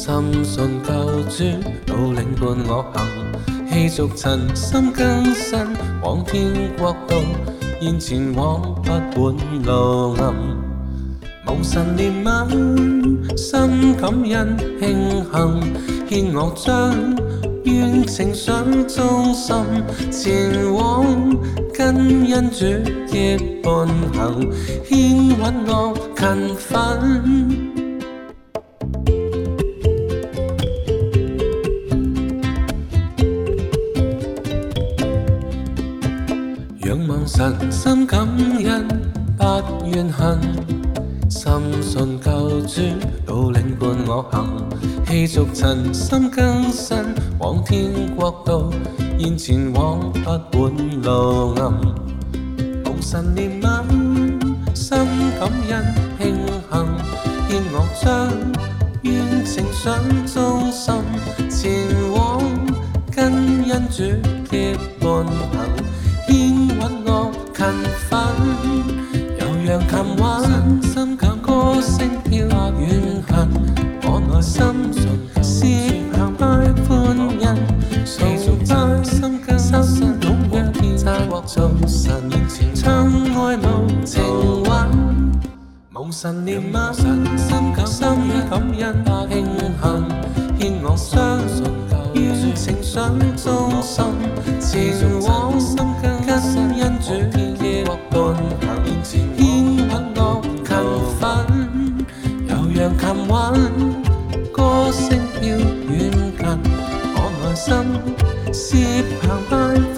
深信救主導領伴我行，氣俗塵心更新，往天國度，現前往不本路暗。無神憐憫，心感恩慶幸，獻樂章，願情想忠心，前往跟恩主結伴行，牽穩我勤奮。仰望神，心感恩，不怨恨。深信救主導領伴我行，氣俗塵心更新，往天國度，現前往不本路暗。無神憐憫，心感恩慶幸，獻樂章，願情想忠心，前往跟恩主結伴行，牽穩我勤奮，悠揚琴韻，心感歌聲飄遠行，我內心是澎湃歡欣，崇拜心更深，懂若天國造神面前，唱愛無情韻，無神憐憫，心感恩慶幸，獻樂相信願情想忠心，前往跟恩主結伴行，牽穩我勤奮，悠揚琴韻，歌聲飄遠近，我內心是澎湃。